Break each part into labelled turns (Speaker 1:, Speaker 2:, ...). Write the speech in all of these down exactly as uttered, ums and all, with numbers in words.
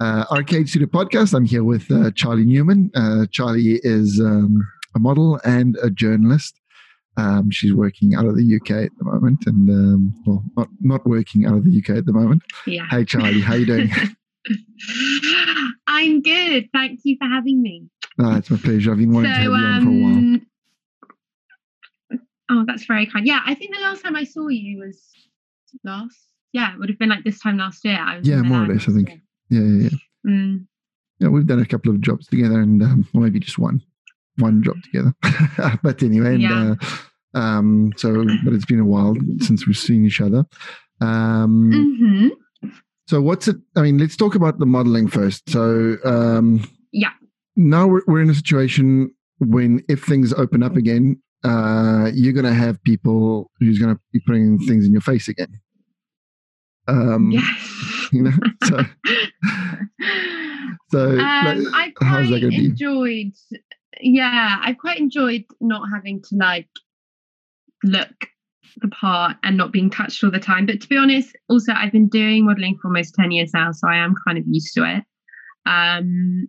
Speaker 1: uh, Arcade Studio Podcast. I'm here with uh, Charlie Newman. Uh, Charlie is um, a model and a journalist. Um, she's working out of the U K at the moment, and um, well, not not working out of the U K at the moment.
Speaker 2: Yeah.
Speaker 1: Hey, Charlie, how you doing?
Speaker 2: I'm good. Thank you for having me.
Speaker 1: Oh, it's my pleasure. I've been wanting
Speaker 2: so,
Speaker 1: to have you on
Speaker 2: um,
Speaker 1: for a while.
Speaker 2: Oh, that's very kind. Yeah, I think the last time I saw you was last. Yeah, it would have been like this time last year. I was
Speaker 1: Yeah, more or less, I think. Yeah, yeah, yeah.
Speaker 2: Mm.
Speaker 1: Yeah, we've done a couple of jobs together, and um, or maybe just one, one job together. But anyway, and,
Speaker 2: Yeah.
Speaker 1: uh, um, so but it's been a while since we've seen each other. Um,
Speaker 2: Mm-hmm.
Speaker 1: So what's it? I mean, let's talk about the modeling first. So um,
Speaker 2: Yeah.
Speaker 1: now we're we're in a situation when if things open up again, uh, you're going to have people who's going to be putting things in your face again. Um,
Speaker 2: Yes.
Speaker 1: You know, so so
Speaker 2: Um,
Speaker 1: like,
Speaker 2: I
Speaker 1: how's that
Speaker 2: quite
Speaker 1: going to be?
Speaker 2: enjoyed. Yeah, I quite enjoyed not having to like look the part and not being touched all the time. But to be honest, also I've been doing modeling for almost ten years now, so I am kind of used to it. Um,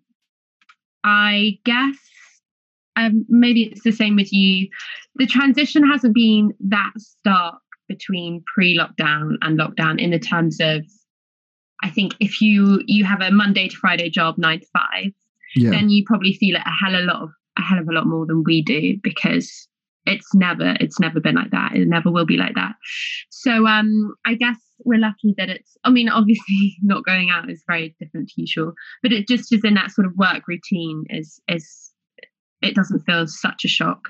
Speaker 2: I guess um, maybe it's the same with you. The transition hasn't been that stark between pre-lockdown and lockdown in the terms of, I think if you you have a Monday to Friday job, nine to five,
Speaker 1: Yeah,
Speaker 2: then you probably feel it a hell of a lot of a hell of a lot more than we do, because it's never it's never been like that. It never will be like that. So um, I guess we're lucky that it's. I mean, obviously, not going out is very different to usual, but it just is in that sort of work routine. Is is it doesn't feel such a shock.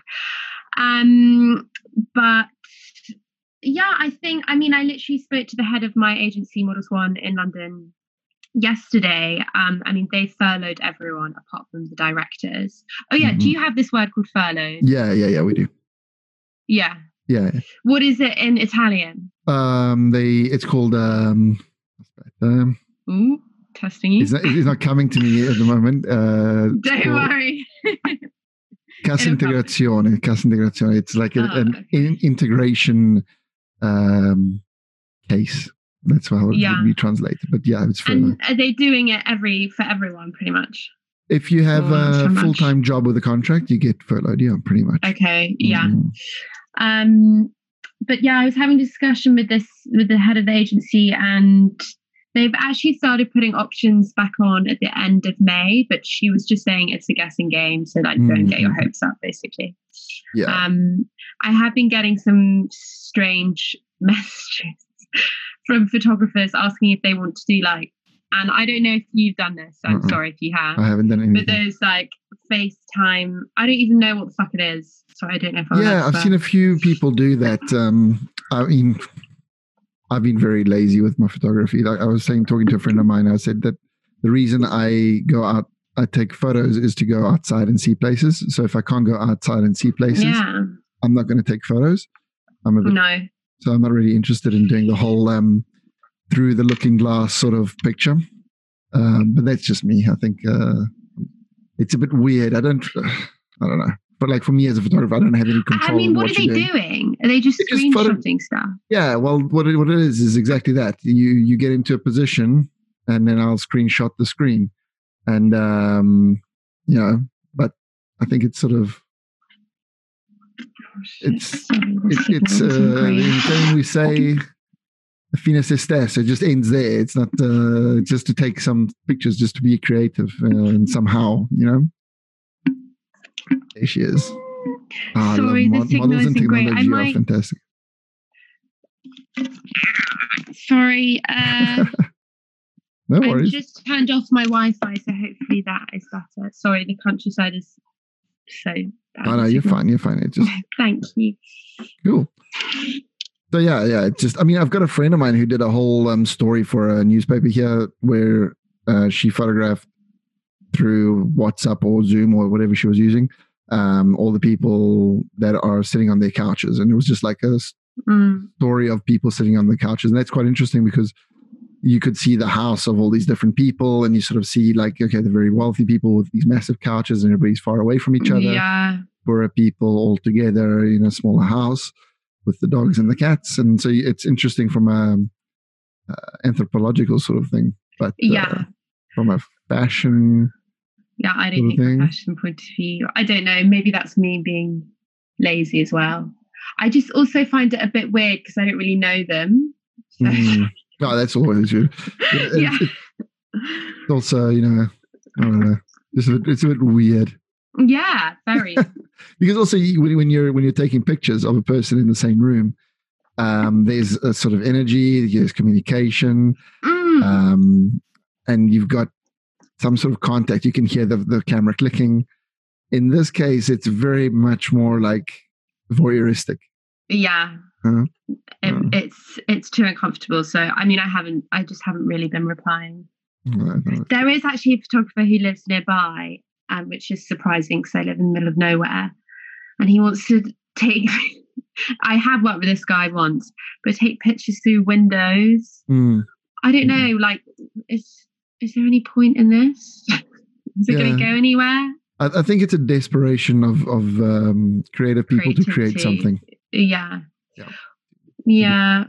Speaker 2: Um, but yeah, I think. I mean, I literally spoke to the head of my agency, Models One, in London yesterday. um I mean, they furloughed everyone apart from the directors. Oh yeah,
Speaker 1: Mhm.
Speaker 2: do you have this word called furlough?
Speaker 1: yeah, yeah, yeah. We do.
Speaker 2: Yeah.
Speaker 1: Yeah,
Speaker 2: What is it in Italian?
Speaker 1: um, they. It's called. Um, um,
Speaker 2: Ooh, testing you.
Speaker 1: it's not. It's not coming to me at the moment. Uh, it's
Speaker 2: Don't
Speaker 1: called
Speaker 2: worry.
Speaker 1: Cassa
Speaker 2: It'll come.
Speaker 1: integrazione. Cassa integrazione. It's like a,
Speaker 2: Oh,
Speaker 1: an
Speaker 2: okay.
Speaker 1: in, integration um, case. That's how it
Speaker 2: Yeah.
Speaker 1: would be translated. But yeah, it's furlough.
Speaker 2: And are they doing it every for everyone pretty much?
Speaker 1: If you have
Speaker 2: Oh, not so
Speaker 1: a
Speaker 2: much.
Speaker 1: full-time job with a contract, you get furloughed. Yeah, pretty much.
Speaker 2: Okay, yeah.
Speaker 1: Mhm.
Speaker 2: Um, but yeah, I was having a discussion with this with the head of the agency, and they've actually started putting options back on at the end of May. But she was just saying it's a guessing game, so like don't get your
Speaker 1: Mhm.
Speaker 2: hopes up, basically.
Speaker 1: Yeah.
Speaker 2: Um, I have been getting some strange messages from photographers asking if they want to do like, and I don't know if you've done this. So I'm
Speaker 1: Uh-uh.
Speaker 2: sorry if you have.
Speaker 1: I haven't done
Speaker 2: But
Speaker 1: anything.
Speaker 2: those like FaceTime, I don't even know what the fuck it is. So I don't know if I'm allowed
Speaker 1: Yeah,
Speaker 2: to
Speaker 1: I've
Speaker 2: swear.
Speaker 1: seen a few people do that. Um, I mean, I've been very lazy with my photography. Like I was saying, talking to a friend of mine, I said that the reason I go out, I take photos is to go outside and see places. So if I can't go outside and see places,
Speaker 2: Yeah,
Speaker 1: I'm not going to take photos. I'm a bit,
Speaker 2: no.
Speaker 1: so I'm not really interested in doing the whole um, through the looking glass sort of picture. Um, but that's just me. I think uh, it's a bit weird. I don't, I don't know. But like for me as a photographer, I don't have any control.
Speaker 2: I mean,
Speaker 1: on
Speaker 2: what,
Speaker 1: what
Speaker 2: are they
Speaker 1: you're doing.
Speaker 2: doing? Are they just
Speaker 1: They just photo-
Speaker 2: screenshotting stuff?
Speaker 1: Yeah, well, what it, what it is is exactly that. You you get into a position, and then I'll screenshot the screen, and um, you know. But I think it's sort of it's
Speaker 2: Sorry, the
Speaker 1: it, it's
Speaker 2: signal isn't
Speaker 1: uh,
Speaker 2: great.
Speaker 1: in Italian we say fine se stesso. It just ends there. It's not uh, just to take some pictures, just to be creative uh, and somehow, you know. There she is. Ah,
Speaker 2: Sorry,
Speaker 1: I
Speaker 2: the
Speaker 1: love mod-
Speaker 2: signal
Speaker 1: models and
Speaker 2: isn't great. I
Speaker 1: technology are
Speaker 2: might.
Speaker 1: fantastic.
Speaker 2: Sorry, uh,
Speaker 1: No
Speaker 2: I've
Speaker 1: worries.
Speaker 2: just turned off my Wi-Fi, so hopefully that is better. Sorry, the countryside is so bad.
Speaker 1: Oh,
Speaker 2: with
Speaker 1: no, you're
Speaker 2: signal.
Speaker 1: fine. You're fine. It's just
Speaker 2: Thank you.
Speaker 1: cool. So yeah, yeah. It's just. I mean, I've got a friend of mine who did a whole um, story for a newspaper here, where uh, she photographed through WhatsApp or Zoom or whatever she was using, um, all the people that are sitting on their couches, and it was just like a
Speaker 2: Mm.
Speaker 1: story of people sitting on the couches, and that's quite interesting because you could see the house of all these different people, and you sort of see like, okay, the very wealthy people with these massive couches, and everybody's far away from each other.
Speaker 2: Yeah.
Speaker 1: Poorer people all together in a smaller house with the dogs and the cats, and so it's interesting from a uh, anthropological sort of thing. But uh,
Speaker 2: Yeah.
Speaker 1: from a fashion.
Speaker 2: Yeah, I don't think from a fashion point of view. I don't know. Maybe that's me being lazy as well. I just also find it a bit weird because I don't really know them. So.
Speaker 1: Mm. Oh, that's always good. It,
Speaker 2: yeah.
Speaker 1: It, it's also, you know, I don't know. It's a bit, it's a bit weird.
Speaker 2: Yeah, very.
Speaker 1: Because also you, when you're when you're taking pictures of a person in the same room, um, there's a sort of energy, there's communication,
Speaker 2: mm.
Speaker 1: um, and you've got some sort of contact. You can hear the the camera clicking. In this case, it's very much more like voyeuristic.
Speaker 2: Yeah.
Speaker 1: Huh?
Speaker 2: It, uh, it's it's too uncomfortable. So I mean, I haven't. I just haven't really been replying.
Speaker 1: No, no.
Speaker 2: There is actually a photographer who lives nearby, um, which is surprising because I live in the middle of nowhere, and he wants to take. I have worked with this guy once, but take pictures through windows.
Speaker 1: Mm.
Speaker 2: I don't know. Like, is is there any point in this? Is it
Speaker 1: Yeah.
Speaker 2: going to go anywhere?
Speaker 1: I, I think it's a desperation of of um, creative people
Speaker 2: Creativity.
Speaker 1: to create something.
Speaker 2: Yeah.
Speaker 1: Yeah.
Speaker 2: Yeah.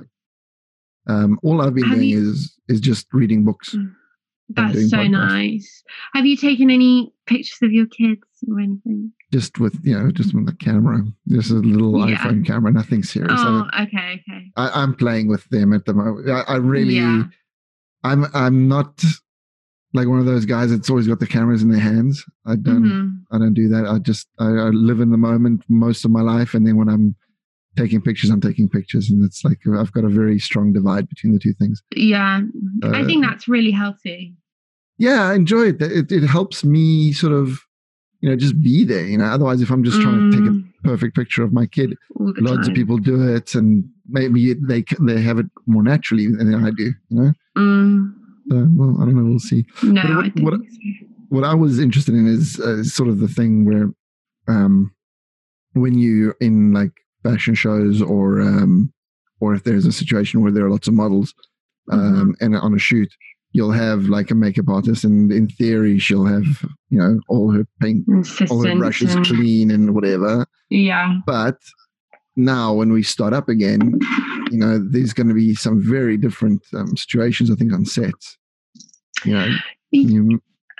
Speaker 1: Um, all I've been
Speaker 2: have
Speaker 1: doing
Speaker 2: you,
Speaker 1: is is just reading books.
Speaker 2: That's so podcasts. Nice. Have you taken any pictures of your kids or anything?
Speaker 1: Just with, you know, just with the camera. Just a little yeah. iPhone camera, nothing serious.
Speaker 2: Oh, I mean, okay, okay.
Speaker 1: I, I'm playing with them at the moment. I, I really,
Speaker 2: yeah.
Speaker 1: I'm I'm not like one of those guys that's always got the cameras in their hands. I don't,
Speaker 2: mm-hmm.
Speaker 1: I don't do that. I just, I, I live in the moment most of my life, and then when I'm taking pictures, I'm taking pictures, and it's like I've got a very strong divide between the two things.
Speaker 2: Yeah,
Speaker 1: uh,
Speaker 2: I think that's really healthy.
Speaker 1: Yeah, I enjoy it. It it helps me sort of, you know, just be there. You know, otherwise, if I'm just trying
Speaker 2: mm.
Speaker 1: to take a perfect picture of my kid, loads
Speaker 2: time.
Speaker 1: of people do it, and maybe they they have it more naturally than I do. You know.
Speaker 2: Mm.
Speaker 1: So, well, I don't know. We'll see.
Speaker 2: No,
Speaker 1: but what,
Speaker 2: I think
Speaker 1: what,
Speaker 2: so.
Speaker 1: what I was interested in is uh, sort of the thing where, um, when you're in like fashion shows or um, or if there's a situation where there are lots of models, um,
Speaker 2: mm-hmm.
Speaker 1: and on a shoot, you'll have like a makeup artist, and in theory, she'll have, you know, all her paint,
Speaker 2: Assistant
Speaker 1: all her brushes
Speaker 2: and,
Speaker 1: clean and whatever.
Speaker 2: Yeah.
Speaker 1: But now, when we start up again, you know, there's going to be some very different um, situations, I think, on sets. You know, you,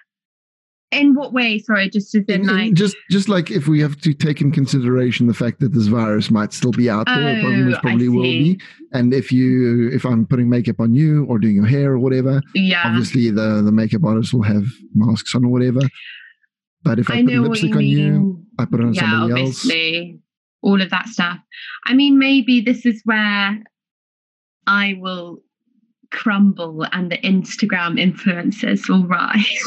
Speaker 2: in what way? Sorry, just as in,
Speaker 1: in,
Speaker 2: like,
Speaker 1: in just just like if we have to take in consideration the fact that this virus might still be out there,
Speaker 2: oh,
Speaker 1: probably, probably will be. And if you, if I'm putting makeup on you or doing your hair or whatever,
Speaker 2: yeah,
Speaker 1: obviously the the makeup artist will have masks on or whatever. But if I, I put lipstick you on mean. you, I put it on
Speaker 2: yeah,
Speaker 1: somebody
Speaker 2: obviously.
Speaker 1: else.
Speaker 2: All of that stuff. I mean, maybe this is where I will crumble and the Instagram influencers will rise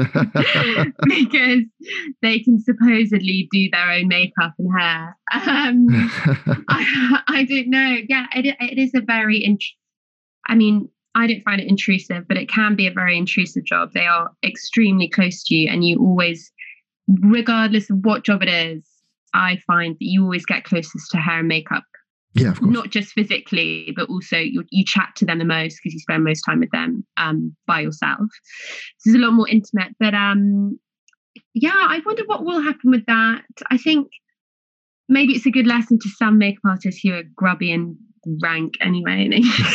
Speaker 2: because they can supposedly do their own makeup and hair. Um, I, I don't know. Yeah, it, it is a very, int- I mean, I don't find it intrusive, but it can be a very intrusive job. They are extremely close to you, and you always, regardless of what job it is, I find that you always get closest to hair and makeup.
Speaker 1: Yeah, of course.
Speaker 2: Not just physically, but also you, you chat to them the most because you spend most time with them um, by yourself. So it's a lot more intimate. But um, yeah, I wonder what will happen with that. I think maybe it's a good lesson to some makeup artists who are grubby and rank anyway.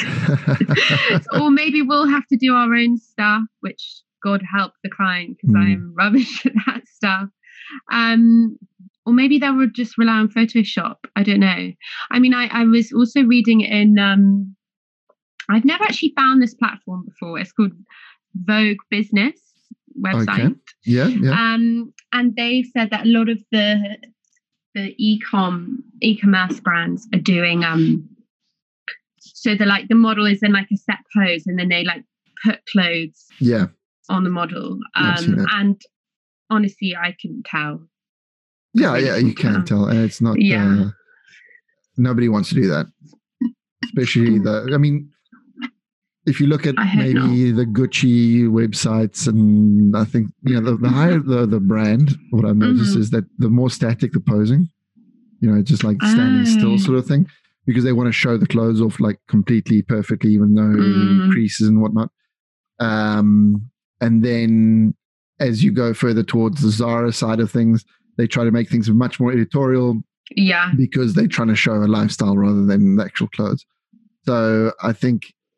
Speaker 2: Or maybe we'll have to do our own stuff, which God help the client because mm. I am rubbish at that stuff. Um, Or maybe they would just rely on Photoshop. I don't know. I mean, I, I was also reading in, um, I've never actually found this platform before. It's called Vogue Business website.
Speaker 1: Okay. Yeah, yeah.
Speaker 2: Um, and they said that a lot of the the e-com, e-commerce brands are doing, um, so the like the model is in like a set pose and then they like put clothes
Speaker 1: yeah.
Speaker 2: on the model. Um, and honestly, I couldn't tell.
Speaker 1: Yeah, really yeah, you can tell. And it's not,
Speaker 2: yeah.
Speaker 1: uh, nobody wants to do that. Especially the, I mean, if you look at maybe the Gucci websites, and I think, you know, the, the higher the, the brand, what I've noticed mm-hmm. is that the more static the posing, you know, just like standing oh. still sort of thing, because they want to show the clothes off like completely perfectly, even though mm. creases and whatnot. Um, and then as you go further towards the Zara side of things, they try to make things much more editorial,
Speaker 2: yeah,
Speaker 1: because they're trying to show a lifestyle rather than the actual clothes. So I think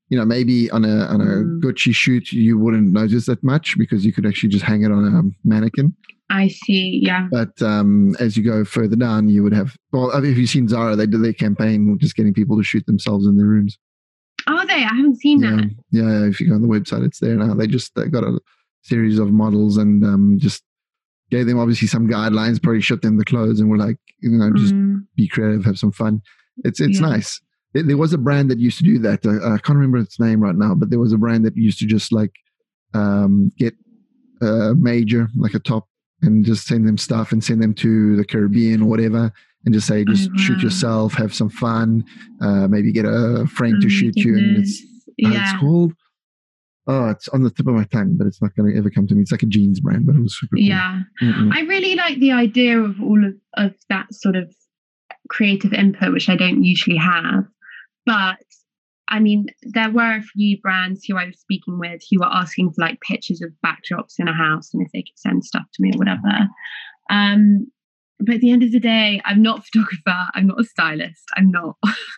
Speaker 1: you know, maybe on a on a
Speaker 2: Mm.
Speaker 1: Gucci shoot you wouldn't notice that much because you could actually just hang it on a mannequin.
Speaker 2: I see. Yeah.
Speaker 1: But um, as you go further down, you would have. Well, have you seen Zara? They did their campaign just getting people to shoot themselves in their rooms.
Speaker 2: Are they? I haven't seen
Speaker 1: Yeah,
Speaker 2: that.
Speaker 1: yeah. If you go on the website, it's there now. They just they got a series of models and um, just gave them obviously some guidelines. Probably shipped them the clothes and were like, you know, just
Speaker 2: Mm.
Speaker 1: be creative, have some fun. It's it's
Speaker 2: Yeah.
Speaker 1: nice. There, there was a brand that used to do that. Uh, I can't remember its name right now, but there was a brand that used to just like um, get a major, like a top, and just send them stuff and send them to the Caribbean or whatever, and just say, just
Speaker 2: Oh,
Speaker 1: shoot
Speaker 2: wow.
Speaker 1: yourself, have some fun, uh, maybe get a friend
Speaker 2: Oh
Speaker 1: to
Speaker 2: my
Speaker 1: shoot you. And it's,
Speaker 2: goodness.
Speaker 1: uh, it's
Speaker 2: Yeah.
Speaker 1: called, oh, it's on the tip of my tongue, but it's not going to ever come to me. It's like a jeans brand, but it was super cool.
Speaker 2: Yeah.
Speaker 1: Mm-mm.
Speaker 2: I really like the idea of all of, of that sort of creative input, which I don't usually have. But I mean, there were a few brands who I was speaking with who were asking for like pictures of backdrops in a house and if they could send stuff to me or whatever. Um, but at the end of the day, I'm not a photographer. I'm not a stylist. I'm not.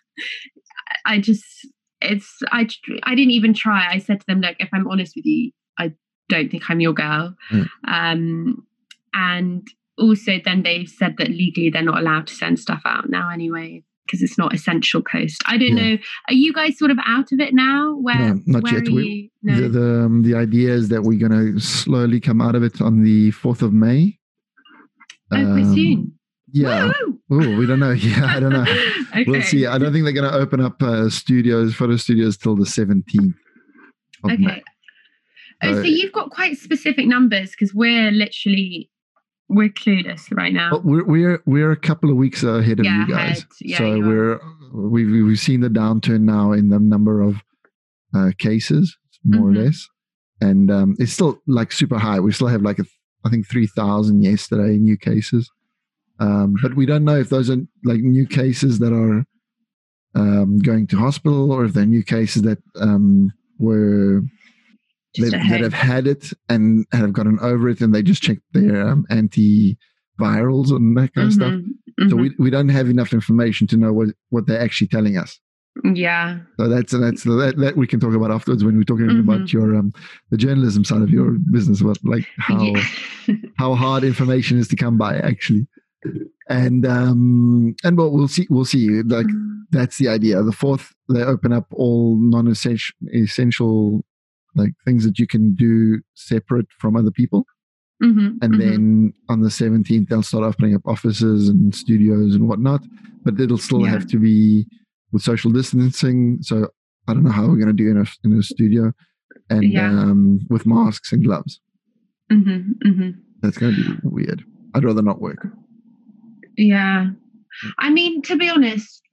Speaker 2: I just, it's, I, I didn't even try. I said to them, look, if I'm honest with you, I don't think I'm your girl.
Speaker 1: Mm.
Speaker 2: Um, and also then they've said that legally they're not allowed to send stuff out now anyway, because it's not essential post. I don't
Speaker 1: Yeah.
Speaker 2: know. Are you guys sort of out of it now? Where,
Speaker 1: No, not
Speaker 2: where
Speaker 1: yet.
Speaker 2: are
Speaker 1: We-
Speaker 2: you? No.
Speaker 1: The the, um, the idea is that we're going to slowly come out of it on the fourth of May.
Speaker 2: oh, quite
Speaker 1: Um,
Speaker 2: soon.
Speaker 1: Yeah.
Speaker 2: Woo!
Speaker 1: Oh, we don't know. Yeah, I don't know.
Speaker 2: Okay.
Speaker 1: We'll see. I don't think they're going to open up uh, studios, photo studios, till the seventeenth of
Speaker 2: Okay.
Speaker 1: May.
Speaker 2: Oh, so
Speaker 1: Uh,
Speaker 2: you've got quite specific numbers because we're literally we're clueless right now.
Speaker 1: But we're we're we're a couple of weeks ahead of
Speaker 2: Yeah,
Speaker 1: you guys.
Speaker 2: ahead. Yeah,
Speaker 1: so
Speaker 2: you are.
Speaker 1: we're we've we've seen the downturn now in the number of uh, cases, more
Speaker 2: Mhm.
Speaker 1: or less, and um, it's still like super high. We still have like a, I think three thousand yesterday new cases, um, but we don't know if those are like new cases that are um, going to hospital or if they're new cases that um, were
Speaker 2: Just
Speaker 1: that,
Speaker 2: at
Speaker 1: that
Speaker 2: home.
Speaker 1: have had it and have gotten over it, and they just checked their um, antivirals and that kind of stuff.
Speaker 2: Mhm,
Speaker 1: So
Speaker 2: mhm.
Speaker 1: we, we don't have enough information to know what, what they're actually telling us.
Speaker 2: Yeah.
Speaker 1: So that's that's that, that we can talk about afterwards when we're talking
Speaker 2: Mhm.
Speaker 1: about your um the journalism side of your business, about like how
Speaker 2: Yeah.
Speaker 1: how hard information is to come by actually. And um and what we'll see we'll see like that's the idea. The fourth, they open up all non-essential essential like things that you can do separate from other people.
Speaker 2: Mhm,
Speaker 1: And
Speaker 2: mhm.
Speaker 1: then on the seventeenth, they'll start opening up offices and studios and whatnot. But it'll still
Speaker 2: Yeah.
Speaker 1: have to be with social distancing. So I don't know how we're going to do in a, in a studio and
Speaker 2: Yeah.
Speaker 1: um, with masks and gloves.
Speaker 2: Mhm, mhm.
Speaker 1: That's going to be weird. I'd rather not work.
Speaker 2: Yeah. I mean, to be honest,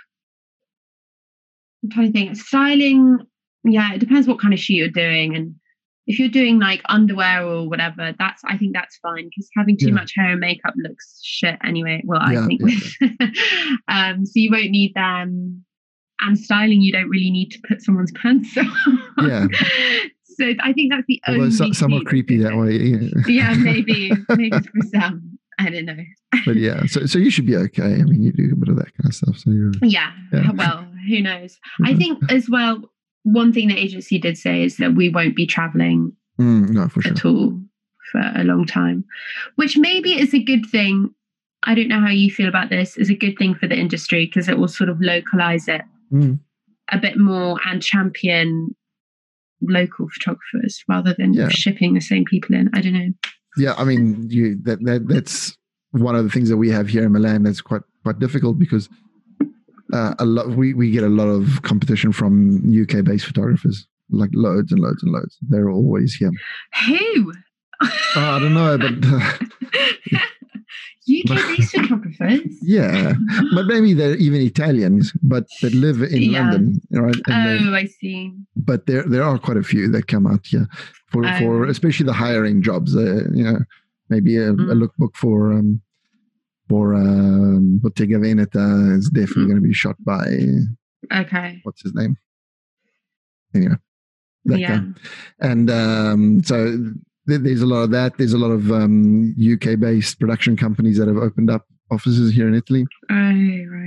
Speaker 2: I'm trying to think. Styling, yeah, it depends what kind of shoot you're doing. And if you're doing like underwear or whatever, that's I think that's fine because having too
Speaker 1: Yeah.
Speaker 2: much hair and makeup looks shit anyway. Well,
Speaker 1: Yeah,
Speaker 2: I think um, so you won't need them. And styling, you don't really need to put someone's pants on.
Speaker 1: Yeah.
Speaker 2: So I think that's the
Speaker 1: Although
Speaker 2: only
Speaker 1: so, some are
Speaker 2: shoot
Speaker 1: creepy
Speaker 2: that's
Speaker 1: that way. Yeah.
Speaker 2: yeah, maybe, maybe for some. I don't know.
Speaker 1: But yeah, so so you should be okay. I mean, you do a bit of that kind of stuff. So you're
Speaker 2: Yeah,
Speaker 1: Yeah.
Speaker 2: well, who knows? I think as well, one thing the agency did say is that we won't be traveling
Speaker 1: Mm, no, for sure.
Speaker 2: at all for a long time, which maybe is a good thing. I don't know how you feel about this. Is a good thing for the industry because it will sort of localize it
Speaker 1: Mm.
Speaker 2: a bit more and champion local photographers rather than
Speaker 1: Yeah.
Speaker 2: shipping the same people in. I don't know.
Speaker 1: Yeah, I mean, you that, that that's one of the things that we have here in Milan that's quite quite difficult because uh, a lot we, we get a lot of competition from U K based photographers, like loads and loads and loads. They're always here.
Speaker 2: Who?
Speaker 1: Oh, I don't know, but uh,
Speaker 2: U K-based photographers.
Speaker 1: yeah, but maybe they're even Italians, but that live in
Speaker 2: Yeah.
Speaker 1: London, right? And they-
Speaker 2: Oh, I see.
Speaker 1: but there there are quite a few that come out here for
Speaker 2: Oh,
Speaker 1: for
Speaker 2: right.
Speaker 1: especially the hiring jobs. Uh, you know, maybe a, a
Speaker 2: Mm.
Speaker 1: lookbook for um for um, Bottega Veneta is definitely
Speaker 2: Mm.
Speaker 1: going to be shot by
Speaker 2: Okay.
Speaker 1: what's his name? Anyway, that
Speaker 2: Yeah.
Speaker 1: guy. And um, so th- there's a lot of that. There's a lot of um, U K based production companies that have opened up offices here in Italy.
Speaker 2: Oh, right.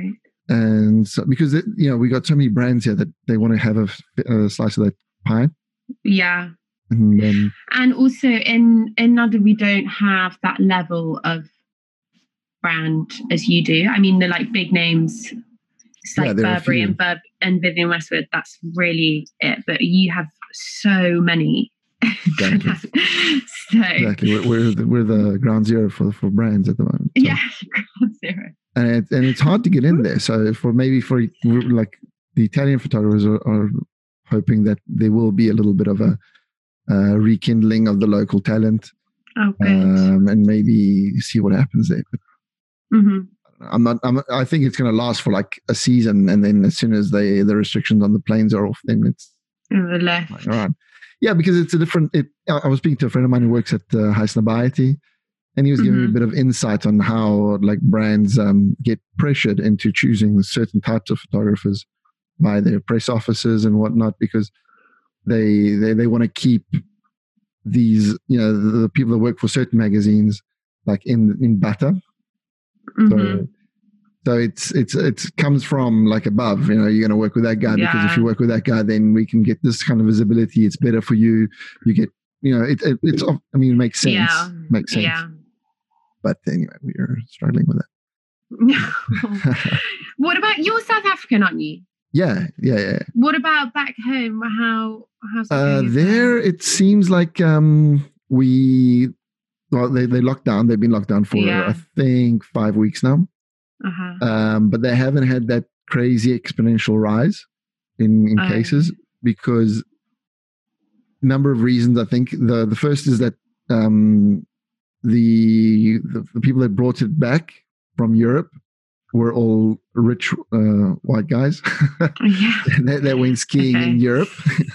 Speaker 1: and so because it, you know we got so many brands here that they want to have a, a slice of that pie.
Speaker 2: Yeah.
Speaker 1: And, then,
Speaker 2: and also in in London we don't have that level of brand as you do. I mean, the like big names, it's like yeah, Burberry and Bur- and Vivienne Westwood. That's really it. But you have so many.
Speaker 1: Exactly.
Speaker 2: so,
Speaker 1: exactly. We're we're the, we're the ground zero for for brands at the moment. So.
Speaker 2: Yeah, ground zero.
Speaker 1: And it, and it's hard to get in there. So for maybe for like the Italian photographers are, are hoping that there will be a little bit of a uh, rekindling of the local talent.
Speaker 2: Oh, good.
Speaker 1: Um, and maybe see what happens there. But
Speaker 2: mm-hmm.
Speaker 1: I'm not. I'm, I think it's going to last for like a season, and then as soon as they the restrictions on the planes are off, then it's
Speaker 2: the left.
Speaker 1: Like, all right. Yeah, because it's a different. It, I was speaking to a friend of mine who works at uh, Highsnobiety, and he was giving mm-hmm. me a bit of insight on how like brands um, get pressured into choosing certain types of photographers by their press officers and whatnot, because they they, they want to keep these, you know, the, the people that work for certain magazines like in in butter.
Speaker 2: Mm-hmm.
Speaker 1: So so it's it's it comes from like above, you know, you're going to work with that guy yeah. because if you work with that guy, then we can get this kind of visibility. It's better for you. You get, you know, it, it it's I mean, it makes sense.
Speaker 2: Yeah.
Speaker 1: Makes sense.
Speaker 2: Yeah.
Speaker 1: But anyway, we are struggling with
Speaker 2: that. What about, you're South African, aren't you?
Speaker 1: Yeah, yeah, yeah.
Speaker 2: What about back home? How how's it
Speaker 1: uh,
Speaker 2: going?
Speaker 1: There, it seems like um, we well, they they locked down. They've been locked down for
Speaker 2: yeah.
Speaker 1: I think five weeks now.
Speaker 2: Uh-huh.
Speaker 1: Um, but they haven't had that crazy exponential rise in in oh. cases because number of reasons. I think the the first is that um, the, the the people that brought it back from Europe were all rich uh, white guys
Speaker 2: yeah.
Speaker 1: that, that went skiing okay. in Europe.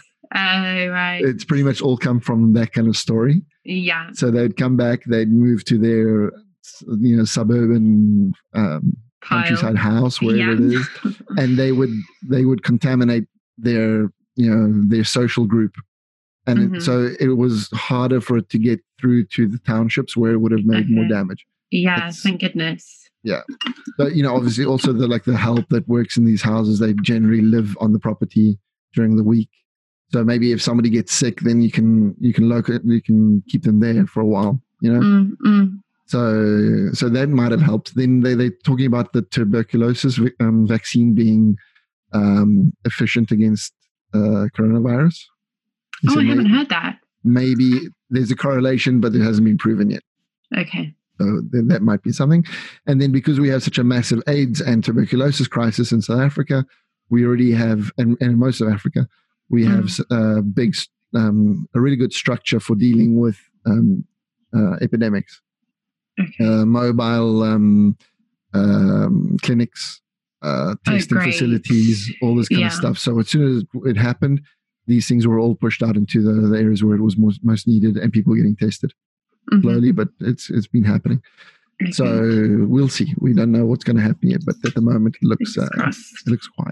Speaker 2: Oh, right.
Speaker 1: It's pretty much all come from that kind of story.
Speaker 2: Yeah.
Speaker 1: So they'd come back, they'd move to their, you know, suburban um, countryside house, wherever yeah. it is, and they would they would contaminate their, you know, their social group. And mm-hmm. it, so it was harder for it to get through to the townships where it would have made okay. more damage.
Speaker 2: Yeah,
Speaker 1: it's,
Speaker 2: thank goodness.
Speaker 1: Yeah. But, you know, obviously also the like the help that works in these houses, they generally live on the property during the week. So maybe if somebody gets sick, then you can you can locate you can keep them there for a while, you know.
Speaker 2: Mm-hmm.
Speaker 1: So so that might have helped. Then they they're talking about the tuberculosis um, vaccine being um, efficient against uh, coronavirus.
Speaker 2: Oh,
Speaker 1: so
Speaker 2: I haven't
Speaker 1: maybe,
Speaker 2: heard that.
Speaker 1: Maybe there's a correlation, but it hasn't been proven yet.
Speaker 2: Okay.
Speaker 1: So then that might be something. And then because we have such a massive AIDS and tuberculosis crisis in South Africa, we already have, and, and in most of Africa, we have mm. a big, um, a really good structure for dealing with um, uh, epidemics.
Speaker 2: Okay.
Speaker 1: Uh, mobile um, um, clinics, uh, testing
Speaker 2: oh,
Speaker 1: facilities, all this kind
Speaker 2: yeah.
Speaker 1: of stuff. So as soon as it happened, these things were all pushed out into the, the areas where it was most, most needed and people getting tested. Mm-hmm. Slowly, but it's it's been happening. Okay. So we'll see. We don't know what's going to happen yet, but at the moment it looks uh, it looks quiet.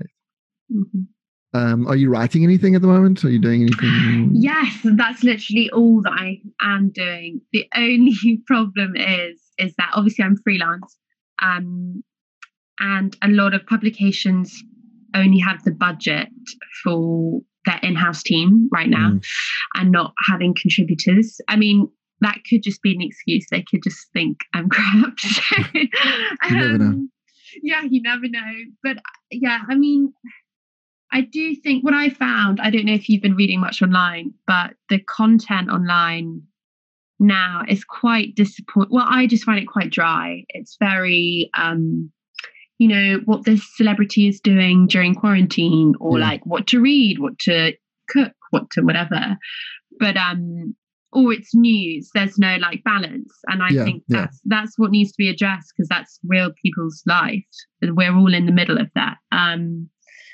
Speaker 2: Mm-hmm.
Speaker 1: Um, are you writing anything at the moment? Are you doing anything?
Speaker 2: Yes, that's literally all that I am doing. The only problem is is that obviously I'm freelance, um, and a lot of publications only have the budget for their in-house team right now, mm. and not having contributors. I mean, that could just be an excuse. They could just think I'm crap. So,
Speaker 1: you never know.
Speaker 2: Um, yeah, you never know. But yeah, I mean, I do think what I found, I don't know if you've been reading much online, but the content online now is quite disappointing. Well, I just find it quite dry. It's very, um, you know, what this celebrity is doing during quarantine, or yeah. like what to read, what to cook, what to whatever. But, um, or it's news, there's no like balance, and I yeah, think that's yeah. that's what needs to be addressed, because that's real people's life, and we're all in the middle of that. Um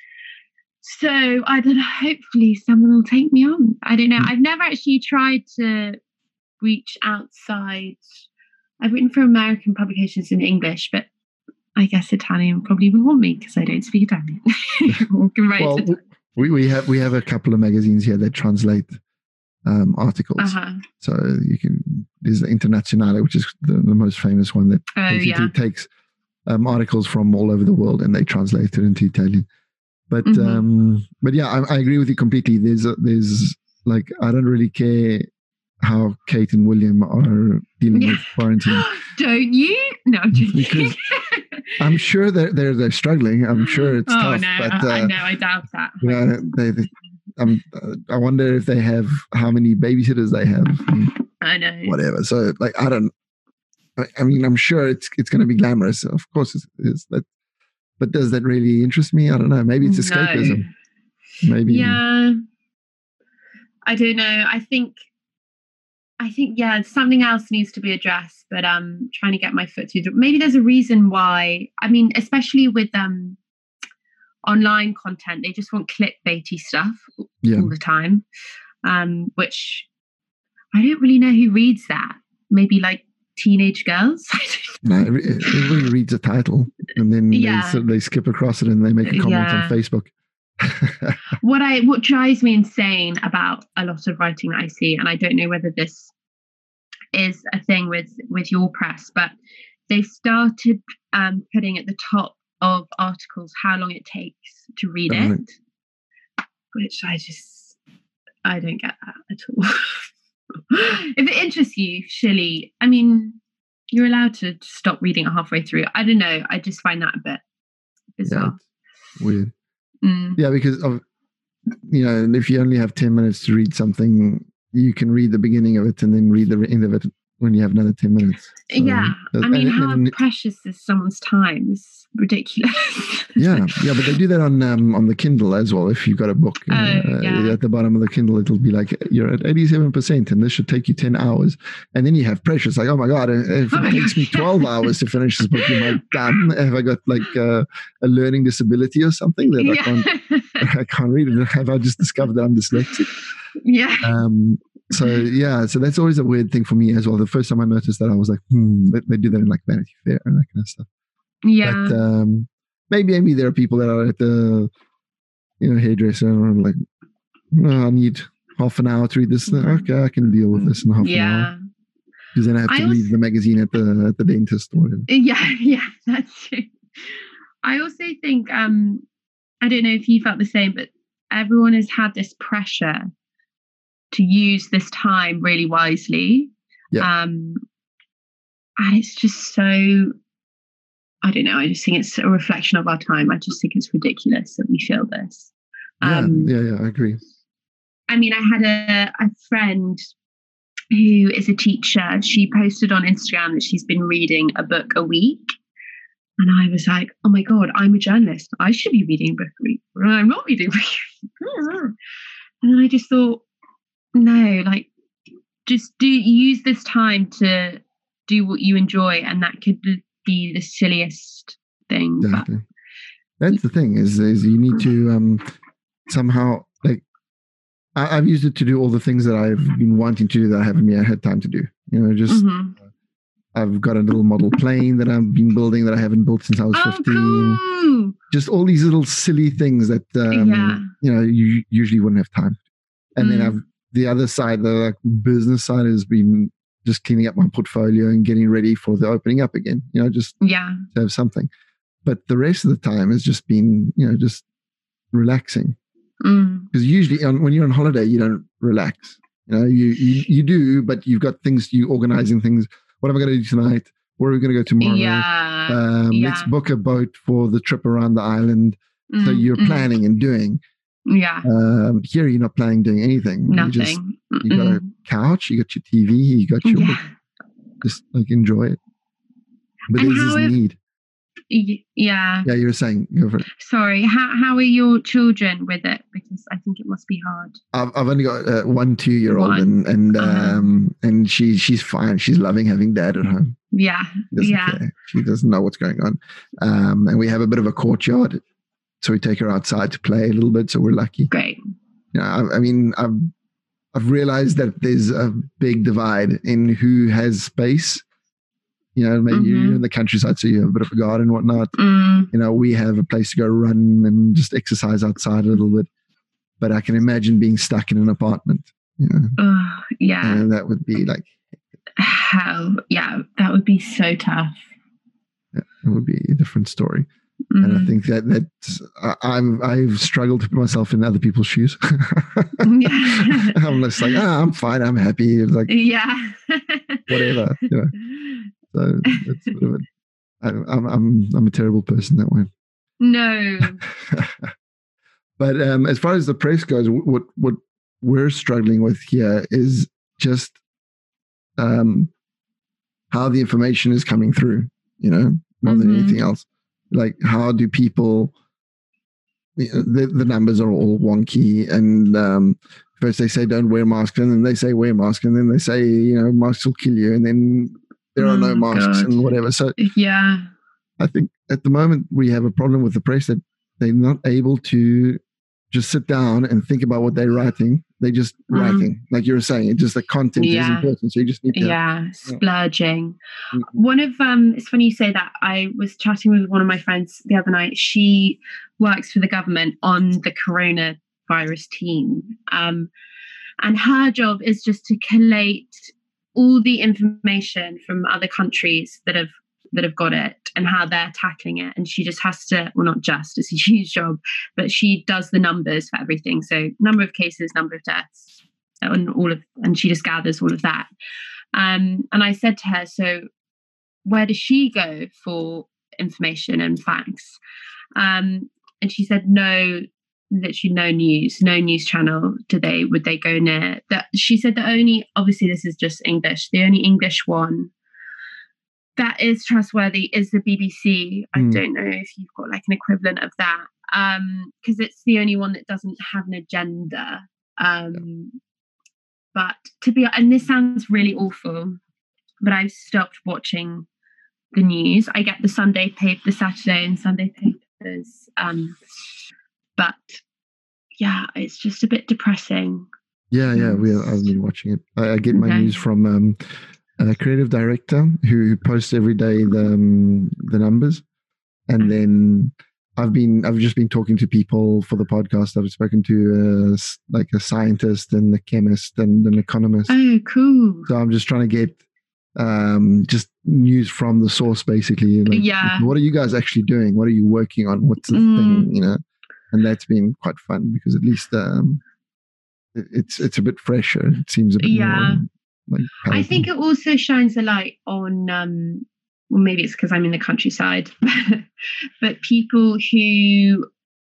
Speaker 2: so I don't know, hopefully someone will take me on. I don't know. I've never actually tried to reach outside. I've written for American publications in English, but I guess Italian probably wouldn't want me because I don't speak Italian.
Speaker 1: Well, we, we have we have a couple of magazines here that translate Um, articles.
Speaker 2: Uh-huh.
Speaker 1: So you can, there's the Internazionale, which is the, the most famous one that
Speaker 2: oh,
Speaker 1: basically
Speaker 2: yeah.
Speaker 1: takes um, articles from all over the world, and they translate it into Italian. But mm-hmm. um, but yeah, I, I agree with you completely. There's a, there's like I don't really care how Kate and William are dealing yeah. with quarantine.
Speaker 2: Don't you? No, I'm joking.
Speaker 1: Because I'm sure they're, they're they're struggling. I'm sure it's
Speaker 2: oh,
Speaker 1: tough.
Speaker 2: No,
Speaker 1: but
Speaker 2: I,
Speaker 1: uh,
Speaker 2: I know, I doubt that.
Speaker 1: You know, they, they, um, I wonder if they have how many babysitters they have.
Speaker 2: I know.
Speaker 1: Whatever. So like I don't. I, I mean, I'm sure it's it's going to be glamorous. Of course, it is. That, but does that really interest me? I don't know. Maybe it's escapism. No. Maybe.
Speaker 2: Yeah. I don't know. I think. I think, yeah, something else needs to be addressed, but um, trying to get my foot through the, maybe there's a reason why, I mean, especially with um, online content, they just want clickbaity stuff
Speaker 1: yeah.
Speaker 2: all the time, um, which I don't really know who reads that. Maybe like teenage girls.
Speaker 1: No, everybody reads a title and then
Speaker 2: yeah.
Speaker 1: they, so they skip across it and they make a comment
Speaker 2: yeah.
Speaker 1: on Facebook.
Speaker 2: what I what drives me insane about a lot of writing that I see, and I don't know whether this is a thing with with your press, but they started um, putting at the top of articles how long it takes to read
Speaker 1: right.
Speaker 2: it, which I just I don't get that at all. If it interests you, surely, I mean, you're allowed to stop reading it halfway through. I don't know. I just find that a bit bizarre.
Speaker 1: Yeah, weird.
Speaker 2: Mm.
Speaker 1: Yeah, because of, you know, if you only have ten minutes to read something, you can read the beginning of it and then read the end of it when you have another ten minutes. So,
Speaker 2: yeah. I mean,
Speaker 1: and,
Speaker 2: how
Speaker 1: and,
Speaker 2: precious is someone's time? It's ridiculous.
Speaker 1: yeah. Yeah. But they do that on um, on the Kindle as well. If you've got a book
Speaker 2: oh,
Speaker 1: uh,
Speaker 2: yeah.
Speaker 1: at the bottom of the Kindle, it'll be like, you're at eighty-seven percent and this should take you ten hours. And then you have pressure. It's like, oh my God, if it oh takes me twelve hours to finish this book, am I done? Have I got like uh, a learning disability or something that yeah. I can't I can't read it? Have I just discovered that I'm dyslexic?
Speaker 2: Yeah.
Speaker 1: Um, so yeah, so that's always a weird thing for me as well. The first time I noticed that, I was like, hmm, they, they do that in like Vanity Fair and that kind of stuff.
Speaker 2: Yeah.
Speaker 1: But um, maybe maybe there are people that are at the, you know, hairdresser and like, oh, I need half an hour to read this. Okay, I can deal with this in half
Speaker 2: yeah.
Speaker 1: an hour. Because then I have to
Speaker 2: I
Speaker 1: read
Speaker 2: also,
Speaker 1: the magazine at the at the dentist or whatever.
Speaker 2: Yeah, yeah, that's true. I also think um, I don't know if you felt the same, but everyone has had this pressure to use this time really wisely.
Speaker 1: Yeah.
Speaker 2: Um, and it's just so, I don't know, I just think it's a reflection of our time. I just think it's ridiculous that we feel this. Um,
Speaker 1: yeah, yeah, yeah, I agree.
Speaker 2: I mean, I had a, a friend who is a teacher. She posted on Instagram that she's been reading a book a week. And I was like, oh my God, I'm a journalist. I should be reading a book a week. But I'm not reading a book. And then I just thought, no, like, just do use this time to do what you enjoy, and that could be the silliest thing.
Speaker 1: Exactly.
Speaker 2: But
Speaker 1: that's the thing is, is you need to um, somehow, like, I, I've used it to do all the things that I've been wanting to do that I haven't yet had time to do. You know, just
Speaker 2: mm-hmm.
Speaker 1: I've got a little model plane that I've been building that I haven't built since I was
Speaker 2: oh,
Speaker 1: fifteen.
Speaker 2: Cool.
Speaker 1: Just all these little silly things that um,
Speaker 2: yeah.
Speaker 1: you know you usually wouldn't have time. And mm. then I've the other side, the like, business side, has been just cleaning up my portfolio and getting ready for the opening up again. You know, just
Speaker 2: yeah.
Speaker 1: to have something. But the rest of the time has just been, you know, just relaxing. Because
Speaker 2: mm.
Speaker 1: usually on, when you're on holiday, you don't relax. You know, you, you you do, but you've got things, you organizing things. What am I going to do tonight? Where are we going to go tomorrow?
Speaker 2: Yeah.
Speaker 1: Um,
Speaker 2: yeah.
Speaker 1: Let's book a boat for the trip around the island. Mm, so you're mm. planning and doing.
Speaker 2: Yeah.
Speaker 1: Um, here you're not planning doing anything.
Speaker 2: Nothing.
Speaker 1: You, just, you got a couch, you got your T V, you got your
Speaker 2: yeah.
Speaker 1: just like enjoy it. But
Speaker 2: and
Speaker 1: there's this
Speaker 2: if,
Speaker 1: need.
Speaker 2: Yeah.
Speaker 1: Yeah, you were saying, go for it.
Speaker 2: Sorry. How how are your children with it? Because I think it must be hard.
Speaker 1: I've I've only got uh, one two year old and and uh-huh. um and she she's fine. She's loving having dad at home.
Speaker 2: Yeah.
Speaker 1: She
Speaker 2: yeah.
Speaker 1: Care. She doesn't know what's going on. Um, and we have a bit of a courtyard. So we take her outside to play a little bit. So we're lucky.
Speaker 2: Great.
Speaker 1: Yeah, I, I mean, I've I've realized that there's a big divide in who has space. You know, maybe mm-hmm. you're in the countryside, so you have a bit of a garden and whatnot.
Speaker 2: Mm.
Speaker 1: You know, we have a place to go run and just exercise outside a little bit. But I can imagine being stuck in an apartment. You know,
Speaker 2: uh, yeah,
Speaker 1: and that would be like
Speaker 2: hell. Yeah, that would be so tough.
Speaker 1: yeah, it would be a different story.
Speaker 2: Mm.
Speaker 1: And I think that that's I, I've I've struggled to put myself in other people's shoes.
Speaker 2: Yeah.
Speaker 1: I'm just like, ah, I'm fine, I'm happy. It's like,
Speaker 2: yeah.
Speaker 1: whatever, you know. So it's sort of a, I, I'm I'm I'm a terrible person that way.
Speaker 2: No.
Speaker 1: But um, as far as the press goes, what what we're struggling with here is just um, how the information is coming through. You know, more mm-hmm. than anything else. Like, how do people? You know, the the numbers are all wonky, and um, first they say don't wear masks, and then they say wear masks, and then they say, you know, masks will kill you, and then there are oh, no masks God. and whatever. So
Speaker 2: yeah,
Speaker 1: I think at the moment we have a problem with the press that they're not able to just sit down and think about what they're writing. They're just mm. writing, like you were saying. It's just the content yeah. is important, so you just need to
Speaker 2: yeah, have, splurging. Yeah. One of um, it's funny you say that. I was chatting with one of my friends the other night. She works for the government on the coronavirus team, um, and her job is just to collate all the information from other countries that have that have got it and how they're tackling it. And she just has to, well, not just, it's a huge job, but she does the numbers for everything. So number of cases, number of deaths, and all of, and she just gathers all of that. Um, and I said to her, so where does she go for information and facts? Um, and she said, no, literally no news, no news channel do they, would they go near. That she said the only, obviously this is just English, the only English one that is trustworthy is the B B C. I mm. don't know if you've got like an equivalent of that, um, because it's the only one that doesn't have an agenda. Um, yeah. But to be, and this sounds really awful, but I've stopped watching the news. I get the Sunday paper, the Saturday and Sunday papers, um, but yeah, it's just a bit depressing.
Speaker 1: Yeah, yeah, we I've been watching it. I, I get my okay. news from. Um, A creative director who posts every day the um, the numbers, and then I've been I've just been talking to people for the podcast. I've spoken to uh, like a scientist and a chemist and an economist.
Speaker 2: Oh, cool!
Speaker 1: So I'm just trying to get um, just news from the source, basically. Like,
Speaker 2: yeah.
Speaker 1: What are you guys actually doing? What are you working on? What's the mm. thing? You know, and that's been quite fun because at least um, it, it's it's a bit fresher. It seems a bit
Speaker 2: yeah.
Speaker 1: more. Like
Speaker 2: I think it also shines a light on, um, well, maybe it's because I'm in the countryside, but people who,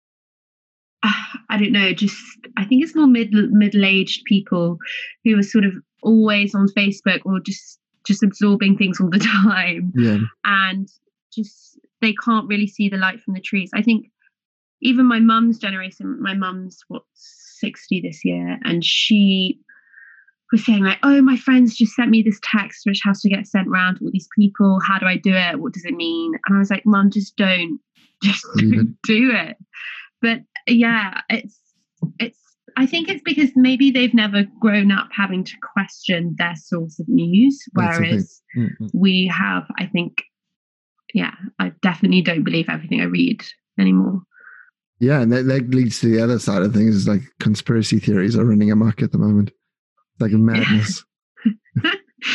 Speaker 2: uh, I don't know, just, I think it's more mid, middle-aged people who are sort of always on Facebook or just, just absorbing things all the time.
Speaker 1: Yeah.
Speaker 2: And just, they can't really see the light from the trees. I think even my mum's generation, my mum's, what, sixty this year, and she was saying like, oh, my friends just sent me this text which has to get sent around to all these people. How do I do it? What does it mean? And I was like, Mum, just don't, just don't do it. But yeah, it's, it's, I think it's because maybe they've never grown up having to question their source of news. Whereas mm-hmm. we have, I think, yeah, I definitely don't believe everything I read anymore.
Speaker 1: Yeah. And that, that leads to the other side of things, is like conspiracy theories are running amok at the moment. Like a madness.
Speaker 2: uh,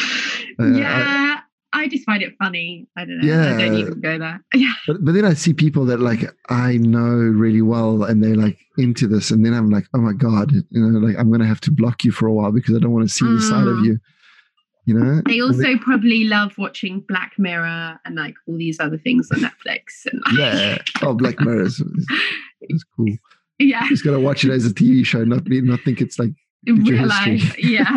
Speaker 2: yeah, I, I just find it funny. I don't know.
Speaker 1: Yeah,
Speaker 2: I don't even go there. Yeah.
Speaker 1: But, but then I see people that like I know really well and they're like into this, and then I'm like, oh my God, you know, like I'm gonna have to block you for a while because I don't want to see mm. the side of you. You know?
Speaker 2: They also they, probably love watching Black Mirror and like all these other things on Netflix. And like,
Speaker 1: yeah. Oh, Black Mirror is, is, is cool.
Speaker 2: Yeah.
Speaker 1: You just gotta watch it as a T V show, not be not think it's like
Speaker 2: real life, yeah.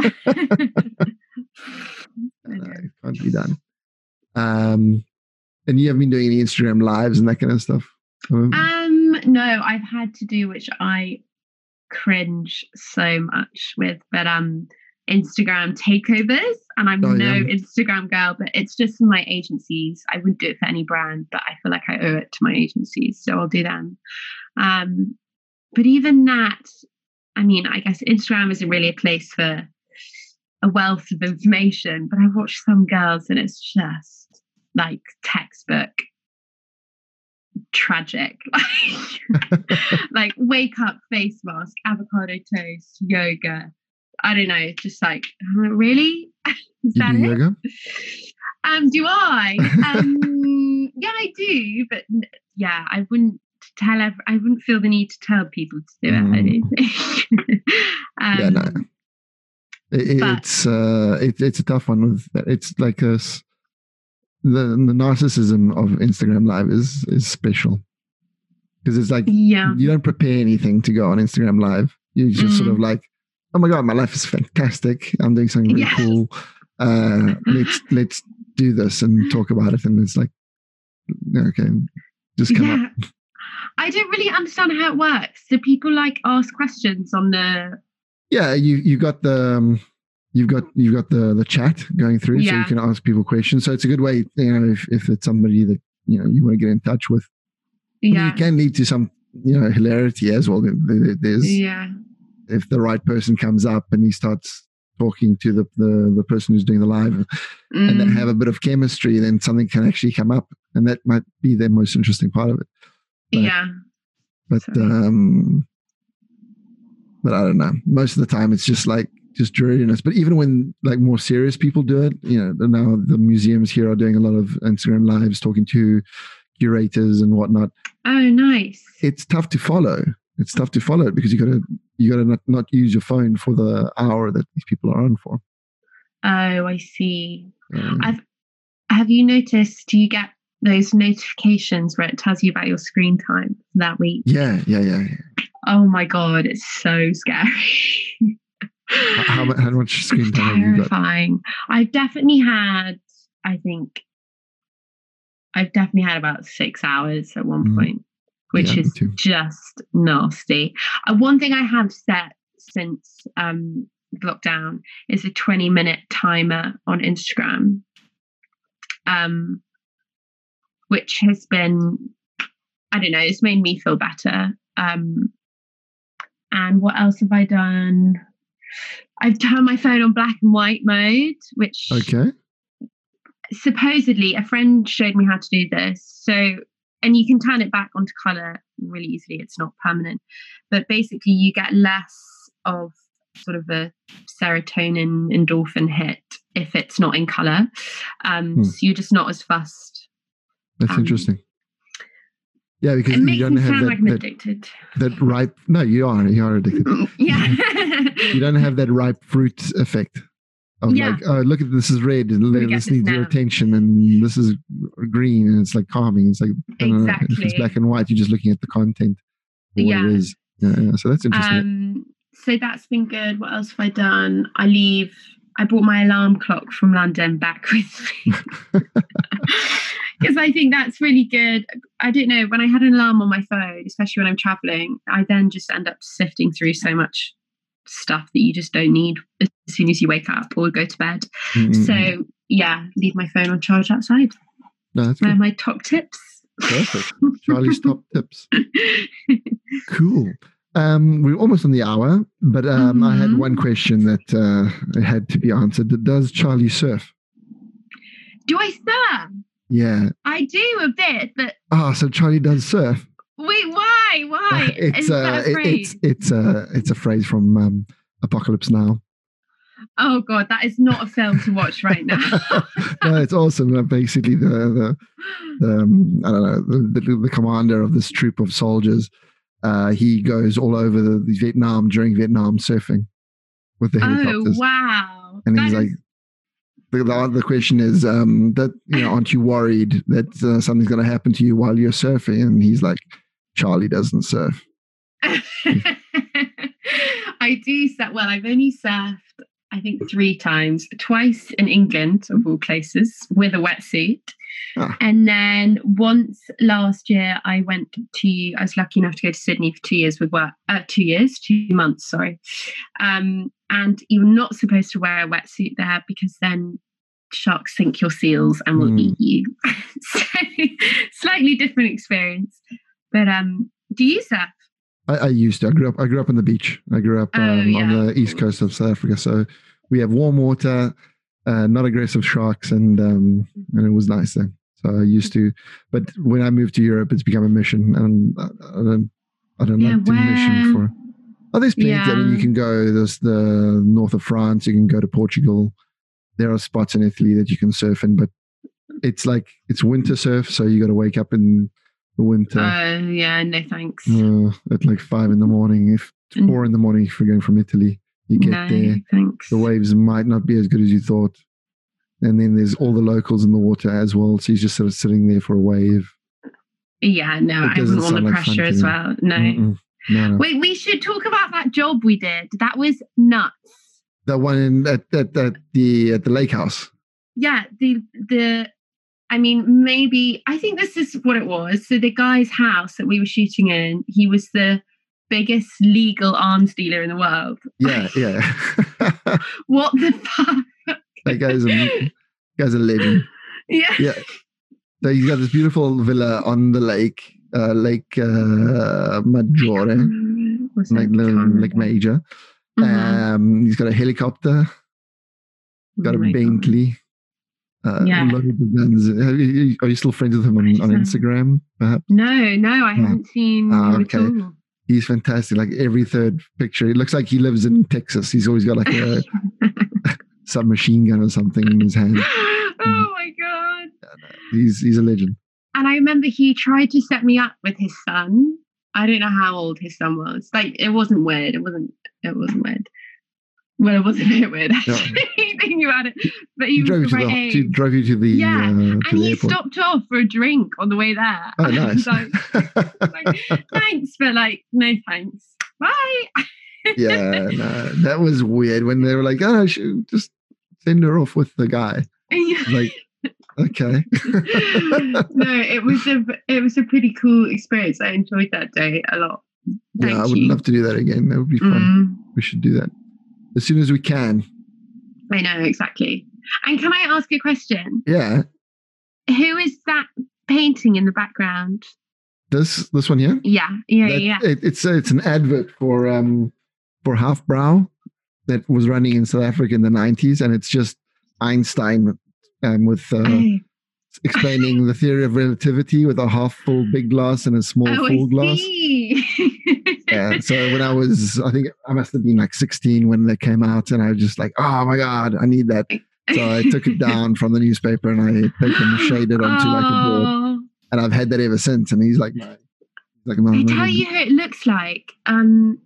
Speaker 1: No, it can't be done. Um, and you haven't been doing any Instagram lives and that kind of stuff?
Speaker 2: Um, um, no, I've had to do, which I cringe so much with, but um, Instagram takeovers, and I'm oh, no yeah. Instagram girl, but it's just for my agencies. I wouldn't do it for any brand, but I feel like I owe it to my agencies, so I'll do them. Um, but even that, I mean, I guess Instagram isn't really a place for a wealth of information, but I watch some girls and it's just like textbook tragic. Like wake up, face mask, avocado toast, yoga. I don't know. It's just like, really? Is
Speaker 1: you
Speaker 2: that
Speaker 1: do
Speaker 2: it?
Speaker 1: Yoga?
Speaker 2: Um, do I? Um, Um, yeah, I do, but n- yeah, I wouldn't tell. Ev- I wouldn't feel the need to tell people to do it. I
Speaker 1: Mm.
Speaker 2: don't think. um,
Speaker 1: Yeah, no. It,
Speaker 2: but
Speaker 1: it's uh, it, it's a tough one. With that. It's like a s- the the narcissism of Instagram Live is is special because it's like
Speaker 2: yeah,
Speaker 1: you don't prepare anything to go on Instagram Live. You just sort of
Speaker 2: Mm.
Speaker 1: like, oh my god, my life is fantastic. I'm doing something really
Speaker 2: Yeah.
Speaker 1: cool. Uh, let's let's do this and talk about it. And it's like, okay, just come
Speaker 2: yeah.
Speaker 1: up.
Speaker 2: I don't really understand how it works. Do people like ask questions on the?
Speaker 1: Yeah, you you got the. Um, You've got you've got the the chat going through, so you
Speaker 2: Yeah.
Speaker 1: can ask people questions. So it's a good way, you know, if, if it's somebody that you know you want to get in touch with. I mean,
Speaker 2: Yeah,
Speaker 1: it can lead to some you know hilarity as well. There- there- There's
Speaker 2: yeah,
Speaker 1: if the right person comes up and he starts talking to the the, the person who's doing the live, and they
Speaker 2: Mm.
Speaker 1: have a bit of chemistry, then something can actually come up, and that might be the most interesting part of it. But,
Speaker 2: yeah.
Speaker 1: but
Speaker 2: Sorry.
Speaker 1: um, but I don't know. Most of the time, it's just like. Just dreariness. But even when like more serious people do it, you know, now the museums here are doing a lot of Instagram lives, talking to curators and whatnot.
Speaker 2: Oh, nice.
Speaker 1: It's tough to follow. It's tough to follow it because you got to you got to not, not use your phone for the hour that these people are on for.
Speaker 2: Oh, I see.
Speaker 1: Um,
Speaker 2: I've have you noticed? Do you get those notifications where it tells you about your screen time that week?
Speaker 1: yeah, yeah, yeah. yeah.
Speaker 2: Oh my god, it's so scary.
Speaker 1: How, mu- how much screen time have you got?
Speaker 2: Terrifying. I've definitely had. I think I've definitely had about six hours at one
Speaker 1: Mm.
Speaker 2: point, which
Speaker 1: Yeah, me
Speaker 2: is
Speaker 1: too.
Speaker 2: just nasty. Uh, one thing I have set since um, lockdown is a twenty minute timer on Instagram, um, which has been, I don't know, it's made me feel better. Um, and what else have I done? I've turned my phone on black and white mode, which
Speaker 1: Okay.
Speaker 2: supposedly a friend showed me how to do this. So, and you can turn it back onto color really easily. It's not permanent, but basically you get less of sort of a serotonin endorphin hit if it's not in color. Um,
Speaker 1: Hmm.
Speaker 2: So you're just not as fussed.
Speaker 1: That's
Speaker 2: Um,
Speaker 1: interesting. Yeah, because
Speaker 2: It
Speaker 1: you
Speaker 2: makes
Speaker 1: don't
Speaker 2: me
Speaker 1: have
Speaker 2: sound
Speaker 1: that,
Speaker 2: like I'm
Speaker 1: that
Speaker 2: addicted.
Speaker 1: that ripe. No, you are. You are addicted.
Speaker 2: Yeah.
Speaker 1: You don't have that ripe fruit effect of
Speaker 2: Yeah.
Speaker 1: like, oh, look at this is red and
Speaker 2: We get
Speaker 1: this
Speaker 2: this
Speaker 1: needs your
Speaker 2: now.
Speaker 1: attention, and this is green, and it's like calming. It's like I don't know, if it's
Speaker 2: Exactly.
Speaker 1: black and white, you're just looking at the content or what
Speaker 2: Yeah.
Speaker 1: it is. Yeah, yeah. So that's interesting.
Speaker 2: Um, so that's been good. What else have I done? I leave. I brought my alarm clock from London back with me because I think that's really good. I don't know, when I had an alarm on my phone, especially when I'm traveling, I then just end up sifting through so much stuff that you just don't need as soon as you wake up or go to bed.
Speaker 1: Mm-mm.
Speaker 2: So yeah, leave my phone on charge outside.
Speaker 1: No, that's
Speaker 2: They're
Speaker 1: good.
Speaker 2: my top tips.
Speaker 1: Perfect. Charlie's top tips. Cool. Um, we're almost on the hour, but um, I had
Speaker 2: Mhm.
Speaker 1: one question that uh, had to be answered. Does Charlie surf?
Speaker 2: Do I surf?
Speaker 1: Yeah.
Speaker 2: I do a bit, but
Speaker 1: Ah, so Charlie does surf.
Speaker 2: wait, why? Why?
Speaker 1: it's
Speaker 2: Is
Speaker 1: uh,
Speaker 2: that a
Speaker 1: it-
Speaker 2: phrase?
Speaker 1: it's it's a it's a phrase from um, Apocalypse Now.
Speaker 2: Oh god, that is not a film to watch right now.
Speaker 1: No, it's awesome. Uh, Basically, the the, the um, I don't know the, the the commander of this troop of soldiers. Uh, he goes all over the, the Vietnam during Vietnam surfing with the
Speaker 2: Oh
Speaker 1: helicopters,
Speaker 2: wow.
Speaker 1: and
Speaker 2: That
Speaker 1: he's
Speaker 2: is-
Speaker 1: like, the, the the question is um, that you know, aren't you worried that uh, something's going to happen to you while you're surfing? And he's like, Charlie doesn't surf.
Speaker 2: I do surf. Well, I've only surfed, I think, three times. Twice in England, of all places, with a wetsuit.
Speaker 1: Ah.
Speaker 2: And then once last year, I went to, I was lucky enough to go to Sydney for two years with work, uh, two years, two months, sorry. Um, and you're not supposed to wear a wetsuit there because then sharks think you're seals and will
Speaker 1: Hmm.
Speaker 2: eat you. So slightly different experience. But um, do you surf?
Speaker 1: I, I used to. I grew up. I grew up on the beach. I grew up
Speaker 2: Oh,
Speaker 1: um,
Speaker 2: yeah,
Speaker 1: on the
Speaker 2: of
Speaker 1: east
Speaker 2: course.
Speaker 1: coast of South Africa, so we have warm water, uh, not aggressive sharks, and um, and it was nice there. So I used to, but when I moved to Europe, it's become a mission, and I, I don't, I don't
Speaker 2: Yeah,
Speaker 1: like to mission
Speaker 2: where-
Speaker 1: for. Oh, there's plenty. I mean, you
Speaker 2: Yeah.
Speaker 1: can go. There's the north of France. You can go to Portugal. There are spots in Italy that you can surf in, but it's like it's winter surf, so you got to wake up in the winter.
Speaker 2: Uh, yeah, no thanks.
Speaker 1: Uh, at like five in the morning, if four in the morning, if you're going from Italy, you get
Speaker 2: no,
Speaker 1: there.
Speaker 2: Thanks.
Speaker 1: The waves might not be as good as you thought, and then there's all the locals in the water as well. So you're just sort of sitting there for a wave.
Speaker 2: Yeah, no, I wouldn't want the
Speaker 1: like
Speaker 2: pressure as
Speaker 1: me.
Speaker 2: well. No.
Speaker 1: no, no.
Speaker 2: Wait, we should talk about that job we did. That was nuts.
Speaker 1: The one in, at, at, at the at the lake house.
Speaker 2: Yeah, the the. I mean, maybe I think this is what it was. So the guy's house that we were shooting in, he was the biggest legal arms dealer in the world.
Speaker 1: Yeah, yeah.
Speaker 2: What the fuck?
Speaker 1: That guy's a guy's a legend.
Speaker 2: Yeah,
Speaker 1: yeah. So he's got this beautiful villa on the lake, uh, Lake uh, Maggiore, like Lake Major. Mm-hmm. Um, he's got a helicopter, got oh a Bentley. Uh,
Speaker 2: yeah.
Speaker 1: A lot of guns. Are you, are you still friends with him on, on Instagram, perhaps?
Speaker 2: No, no, I haven't seen
Speaker 1: oh,
Speaker 2: him
Speaker 1: okay.
Speaker 2: at all.
Speaker 1: He's fantastic. Like every third picture, it looks like he lives in Texas. He's always got like a submachine gun or something in his hand.
Speaker 2: Oh my god!
Speaker 1: He's he's a legend.
Speaker 2: And I remember he tried to set me up with his son. I don't know how old his son was. Like it wasn't weird. It wasn't. It wasn't weird. Well, it was a bit weird actually, no. thinking about it. But he,
Speaker 1: he drove
Speaker 2: was
Speaker 1: you
Speaker 2: the
Speaker 1: to
Speaker 2: right
Speaker 1: the,
Speaker 2: age.
Speaker 1: He drove you to the
Speaker 2: yeah,
Speaker 1: uh, to
Speaker 2: and
Speaker 1: the
Speaker 2: he
Speaker 1: airport.
Speaker 2: stopped off for a drink on the way there.
Speaker 1: Oh, nice.
Speaker 2: like, like, thanks, but like, no thanks. Bye.
Speaker 1: Yeah, no, that was weird when they were like, "Oh, I should just send her off with the guy." Like, okay.
Speaker 2: No, it was a it was a pretty cool experience. I enjoyed that day a lot. Thank
Speaker 1: yeah, I would
Speaker 2: you.
Speaker 1: love to do that again. That would be fun.
Speaker 2: Mm.
Speaker 1: We should do that as soon as we can.
Speaker 2: I know, exactly. And can I ask a question?
Speaker 1: Yeah.
Speaker 2: Who is that painting in the background?
Speaker 1: This this one here?
Speaker 2: Yeah, yeah,
Speaker 1: that,
Speaker 2: yeah.
Speaker 1: It, it's it's an advert for um for Halfbrow that was running in South Africa in the nineties, and it's just Einstein um, with uh, oh. explaining the theory of relativity with a half full big glass and a small
Speaker 2: oh,
Speaker 1: full
Speaker 2: I
Speaker 1: glass.
Speaker 2: See.
Speaker 1: Yeah. So when I was, I think I must have been like sixteen when they came out, and I was just like, oh my god, I need that. So I took it down from the newspaper and I taken shaded onto oh. like a board, and I've had that ever since. And he's like, my, like my,
Speaker 2: I tell you who it looks like. Um,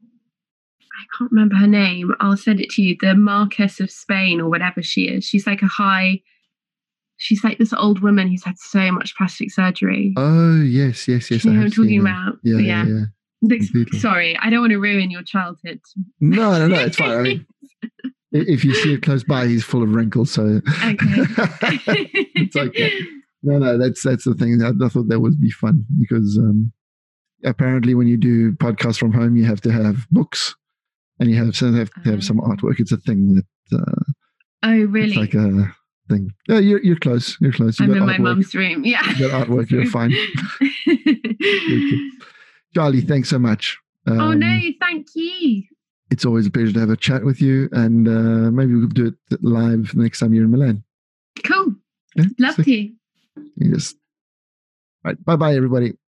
Speaker 2: I can't remember her name. I'll send it to you. The Marquess of Spain or whatever she is. She's like a high. She's like this old woman who's had so much plastic surgery.
Speaker 1: Oh yes, yes, yes.
Speaker 2: You know what I'm talking about?
Speaker 1: Yeah, yeah. yeah.
Speaker 2: yeah. Sorry, I don't want to ruin your childhood.
Speaker 1: No, no, no. It's fine. I mean, if you see it close by, he's full of wrinkles. So
Speaker 2: okay.
Speaker 1: It's okay. No, no. That's that's the thing. I, I thought that would be fun because um, apparently, when you do podcasts from home, you have to have books and you have so have to have some artwork. It's a thing that. Uh,
Speaker 2: oh really?
Speaker 1: It's like a thing. Yeah, you're you're close. You're close. You
Speaker 2: I'm in
Speaker 1: artwork.
Speaker 2: my mum's room. Yeah.
Speaker 1: You got artwork. You're fine. Charlie, thanks so much. Um,
Speaker 2: oh no, thank you.
Speaker 1: It's always a pleasure to have a chat with you, and uh, maybe we'll do it live next time you're in Milan.
Speaker 2: Cool. Yeah, love
Speaker 1: so,
Speaker 2: to.
Speaker 1: You just right. Bye bye, everybody.